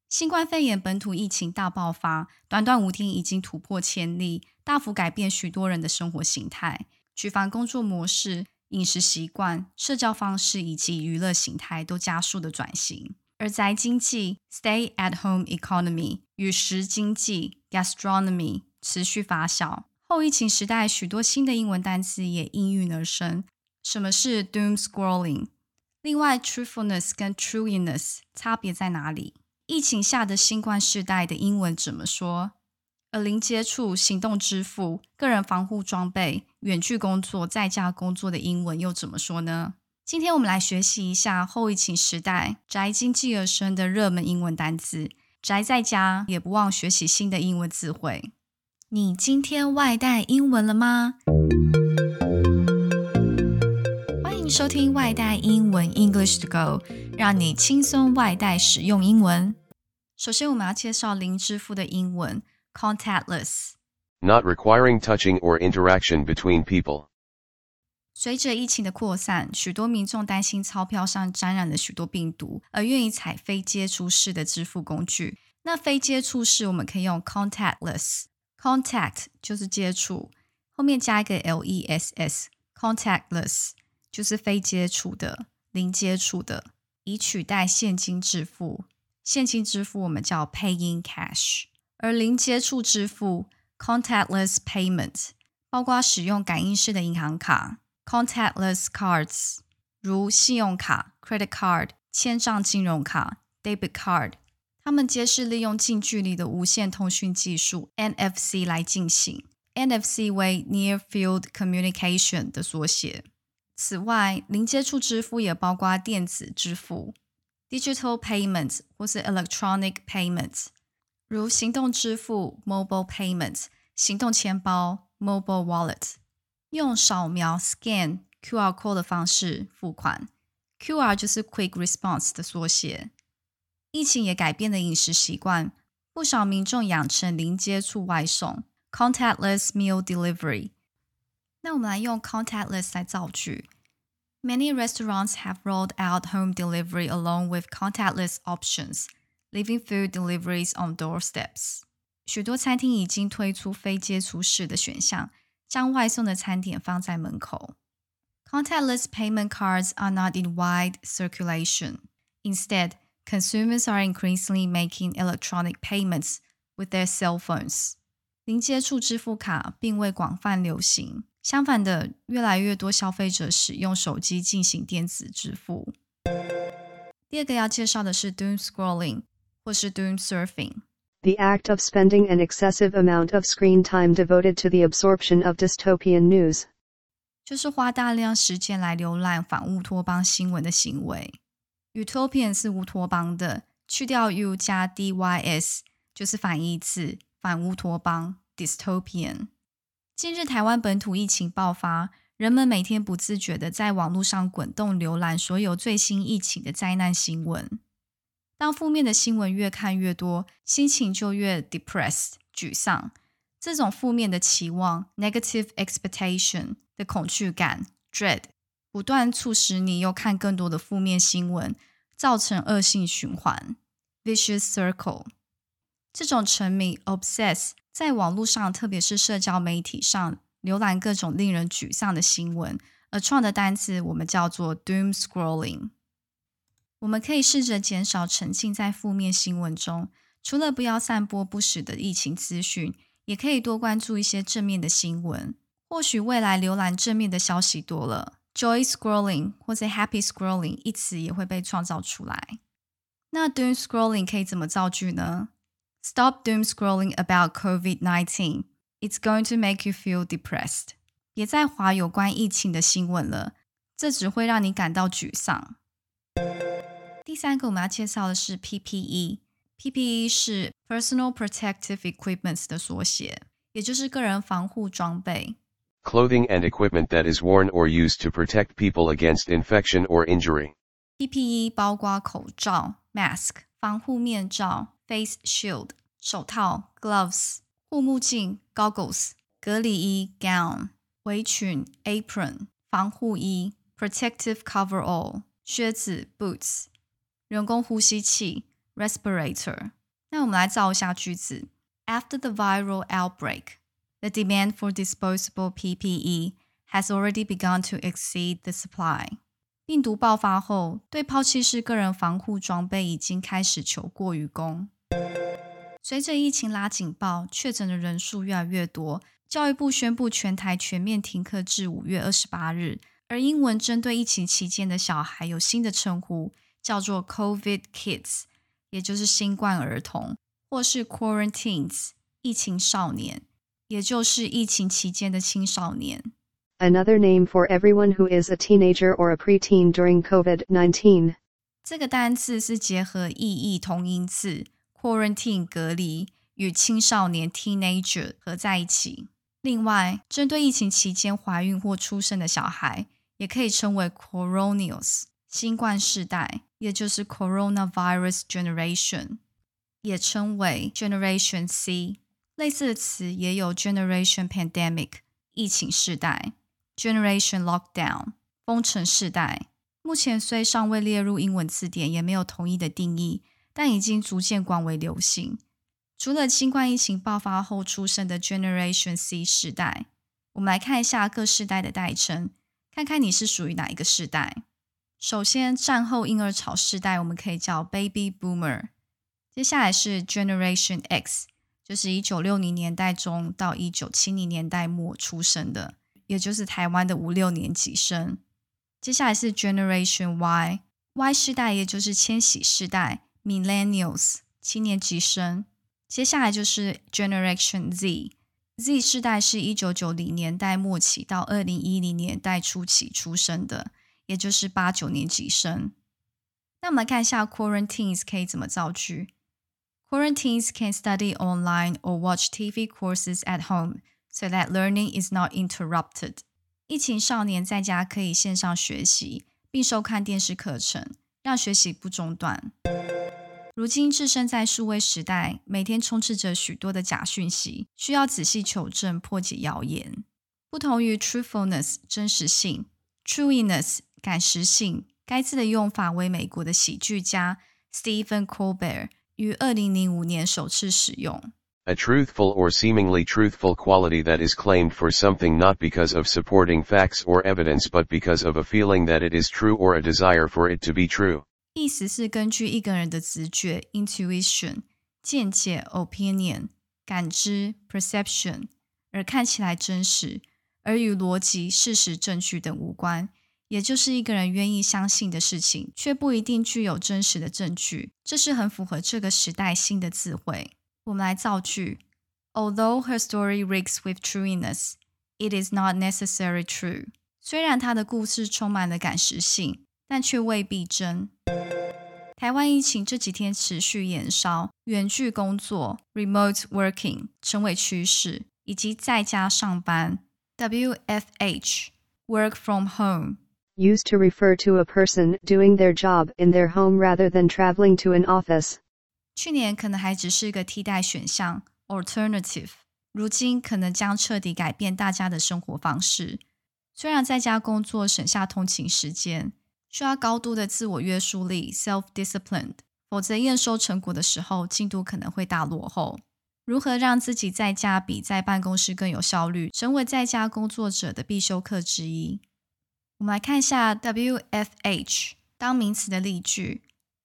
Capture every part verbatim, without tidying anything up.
新冠肺炎本土疫情大爆发，短短五天已经突破千例，大幅改变许多人的生活形态，举凡工作模式、饮食习惯、社交方式以及娱乐形态都加速的转型。而宅经济 Stay-at-home economy 与食经济 Gastronomy 持续发酵。后疫情时代，许多新的英文单词也应运而生。什么是 Doom Scrolling？ 另外 Truthfulness 跟 Truiness 差别在哪里？疫情下的新冠世代的英文怎么说？而零接触、行动支付、个人防护装备、远距工作、在家工作的英文又怎么说呢？今天我们来学习一下后疫情时代宅经济而生的热门英文单字，宅在家也不忘学习新的英文词汇。你今天外带英文了吗？欢迎收听外带英文 English to Go， 让你轻松外带使用英文。首先我们要介绍零支付的英文 Contactless， Not requiring touching or interaction between people。 随着疫情的扩散，许多民众担心钞票上沾染了许多病毒，而愿意采非接触式的支付工具。那非接触式我们可以用 contactless， contact 就是接触，后面加一个 less， contactless 就是非接触的、零接触的，以取代现金支付。现金支付我们叫 paying cash， 而零接触支付 contactless payment 包括使用感应式的银行卡Contactless cards 如信用卡 credit card 签账金融卡 debit card 它们皆是利用近距离的无线通讯技术 N F C 来进行 N F C 为 Near Field Communication 的缩写。此外零接触支付也包括电子支付 Digital Payment 或是 Electronic Payment 如行动支付 Mobile Payment 行动钱包 Mobile Wallet用扫描 scan Q R code 的方式付款 Q R 就是 Quick Response 的缩写。疫情也改变了饮食习惯，不少民众养成零接触外送 Contactless Meal Delivery。 那我们来用 Contactless 来造句。 Many restaurants have rolled out home delivery along with contactless options, leaving food deliveries on doorsteps。 许多餐厅已经推出非接触式的选项，将外送的餐点放在门口。 Contactless payment cards are not in wide circulation. Instead, consumers are increasingly making electronic payments with their cell phones. 零接触支付卡并未广泛流行，相反的，越来越多消费者使用手机进行电子支付。第二个要介绍的是 Doom Scrolling 或是 Doom Surfing。The act of spending an excessive amount of screen time devoted to the absorption of dystopian news， 就是花大量时间来浏览反乌托邦新闻的行为。Utopian 是乌托邦的，去掉 u 加 dys 就是反义词，反乌托邦 dystopian。 近日台湾本土疫情爆发，人们每天不自觉地在网络上滚动浏览所有最新疫情的灾难新闻。当负面的新闻越看越多，心情就越 depressed 沮丧。这种负面的期望 negative expectation 的恐惧感 dread 不断促使你又看更多的负面新闻，造成恶性循环 vicious circle。 这种沉迷 obsess 在网络上特别是社交媒体上浏览各种令人沮丧的新闻，而创的单词我们叫做 doom scrolling。我们可以试着减少沉浸在负面新闻中，除了不要散播不实的疫情资讯，也可以多关注一些正面的新闻。或许未来浏览正面的消息多了， joy scrolling 或者 happy scrolling 一词也会被创造出来。那 doom scrolling 可以怎么造句呢？ Stop doom scrolling about COVID nineteen. It's going to make you feel depressed. 别再滑有关疫情的新闻了，这只会让你感到沮丧。第三个我们要介绍的是 P P E。P P E 是 Personal Protective Equipment 的缩写，也就是个人防护装备。 Clothing and equipment that is worn or used to protect people against infection or injury. P P E 包括口罩 mask、防护面罩 face shield、手套 gloves、护目镜 goggles、隔离衣 gown、围裙 apron、防护衣 protective coverall、靴子 boots、人工呼吸器 respirator。 那我们来造一下句子。After the viral outbreak, the demand for disposable P P E has already begun to exceed the supply. 病毒爆发后，对抛弃式个人防护装备已经开始求过于供。随着疫情拉警报，确诊的人数越来越多，教育部宣布全台全面停课至五月二十八日。而英文针对疫情期间的小孩有新的称呼，叫做 COVID Kids， 也就是新冠儿童，或是 Quarantines， 疫情少年，也就是疫情期间的青少年。 Another name for everyone who is a teenager or a preteen during COVID nineteen. 这个单字是结合意义同音字 quarantine 隔离与青少年 teenager 合在一起。另外，针对疫情期间怀孕或出生的小孩，也可以称为 Coronials 新冠世代，也就是 Coronavirus Generation， 也称为 Generation C。类似的词也有 Generation Pandemic 疫情世代，Generation Lockdown 封城世代。目前虽尚未列入英文字典，也没有统一的定义，但已经逐渐广为流行。除了新冠疫情爆发后出生的 Generation C 世代，我们来看一下各世代的代称，看看你是属于哪一个世代。首先，战后婴儿潮世代我们可以叫 Baby Boomer， 接下来是 Generation X， 就是一九六零年代中到一九七零年代末出生的，也就是台湾的五六年级生。接下来是 Generation Y， Y 世代也就是千禧世代 Millennials 七年级生。接下来就是 Generation Z， Z 世代是一九九零年代末期到二零一零年代初期出生的，也就是八九年级生。那我们来看一下 Quarantines 可以怎么造句。Quarantines can study online or watch T V courses at home so that learning is not interrupted. 疫情少年在家可以线上学习，并收看电视课程，让学习不中断。如今置身在数位时代，每天充斥着许多的假讯息，需要仔细求证，破解谣言。不同于 truthfulness 真实性 truiness 感实性，该字的用法为美国的喜剧家 Stephen Colbert 于二零零五年首次使用。 A truthful or seemingly truthful quality that is claimed for something not because of supporting facts or evidence but because of a feeling that it is true or a desire for it to be true. 意思是根据一个人的直觉 intuition 见解 opinion 感知 perception 而看起来真实，而与逻辑事实证据等无关，也就是一个人愿意相信的事情却不一定具有真实的证据。这是很符合这个时代新的智慧。我们来造句。 Although her story reeks with trueness, it is not necessarily true. 虽然她的故事充满了感实性，但却未必真。台湾疫情这几天持续延烧，远距工作 remote working 成为趋势，以及在家上班 W F H work from home Used to refer to a person doing their job in their home rather than traveling to an office. 去年可能还只是个替代选项 alternative， 如今可能将彻底改变大家的生活方式。虽然在家工作省下通勤时间，需要高度的自我约束力 self-disciplined， 否则验收成果的时候进度可能会大落后。如何让自己在家比在办公室更有效率，成为在家工作者的必修课之一。我们来看一下 W F H 当名词的例句。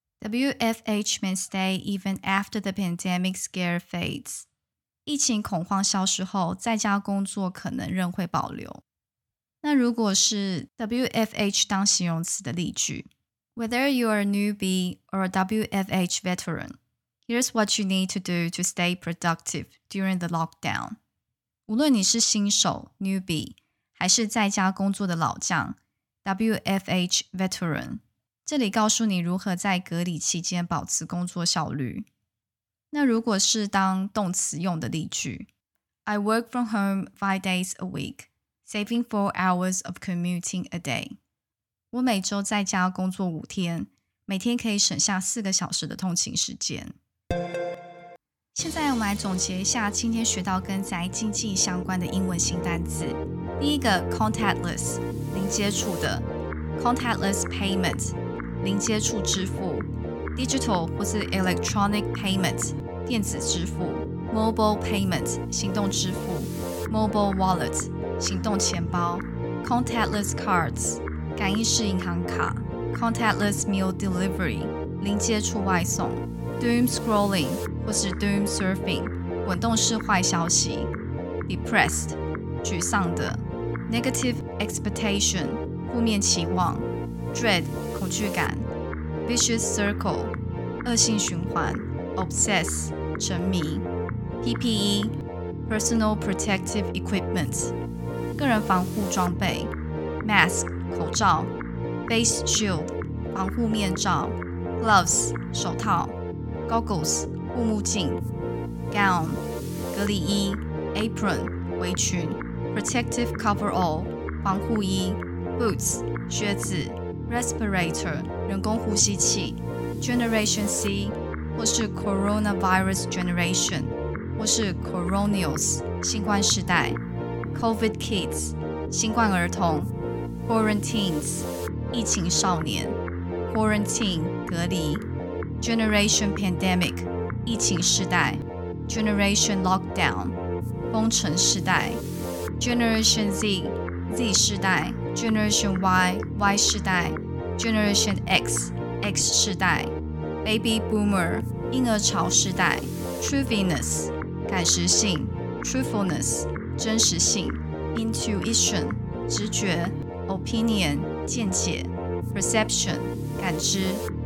W F H may stay even after the pandemic scare fades。 疫情恐慌消失后，在家工作可能仍会保留。那如果是 W F H 当形容词的例句， Whether you are a newbie or a W F H veteran, here's what you need to do to stay productive during the lockdown。 无论你是新手 newbie 还是在家工作的老将 W F H veteran， 这里告诉你如何在隔离期间保持工作效率。那如果是当动词用的例句， I work from home five days a week,Saving four hours of commuting a day。 我每周在家工作五天，每天可以省下四个小时的通勤时间。现在我们来总结一下今天学到跟宅经济相关的英文新单字。第一个 contactless 零接触的 contactless payment 零接触支付 digital 或是 electronic payment 电子支付 Mobile Payment 行动支付 Mobile Wallet 行动钱包 Contactless Cards 感应式银行卡 Contactless Meal Delivery 零接触外送 Doom Scrolling 或是 Doom Surfing 滚动式坏消息 Depressed 沮丧的 Negative Expectation 负面期望 Dread 恐惧感 Vicious Circle 恶性循环 Obsess 沉迷 P P E Personal Protective Equipment 个人防护装备 Mask 口罩 Face Shield 防护面罩 Gloves 手套 Goggles 护目镜 Gown 隔离衣 Apron 围裙 Protective Coverall 防护衣 Boots 靴子 Respirator 人工呼吸器 Generation C 或是 Coronavirus Generation 或是 Coronials 新冠世代 COVID Kids 新冠儿童 Quarantines 疫情少年 Quarantine 隔离 Generation Pandemic 疫情世代 Generation Lockdown 封城世代 Generation Z Z 世代 Generation Y Y 世代 Generation X X 世代 Baby Boomer 婴儿潮世代 Truthiness 感时性 Truthfulness 真实性 Intuition 直觉 Opinion 见解 Perception 感知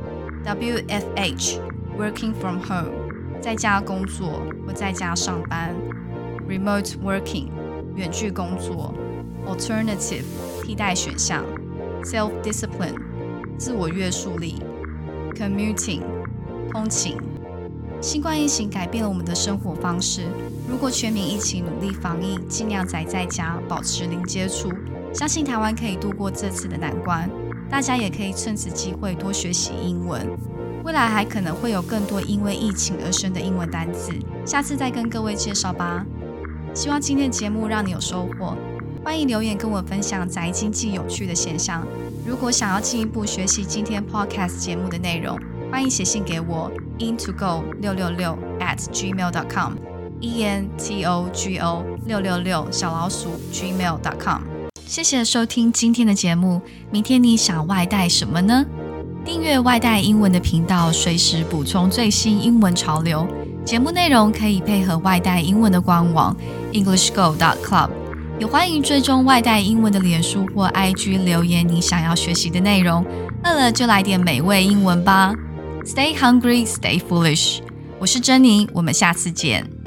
W F H Working from home 在家工作或在家上班 Remote working 远距工作 Alternative 替代选项 Self-discipline 自我约束力 Commuting 通勤新冠疫情改变了我们的生活方式，如果全民一起努力防疫，尽量宅在家，保持零接触，相信台湾可以度过这次的难关。大家也可以趁此机会多学习英文，未来还可能会有更多因为疫情而生的英文单字，下次再跟各位介绍吧。希望今天的节目让你有收获，欢迎留言跟我分享宅经济有趣的现象。如果想要进一步学习今天 podcast 节目的内容，欢迎写信给我 intogo 六六六 at gmail dot com e n t o g o 六六六小老鼠 gmail dot com。谢谢收听今天的节目，明天你想外带什么呢？订阅外带英文的频道，随时补充最新英文潮流。节目内容可以配合外带英文的官网 english go dot club， 也欢迎追踪外带英文的脸书或 I G 留言你想要学习的内容。饿了就来点美味英文吧。Stay hungry, stay foolish。我是珍妮，我们下次见。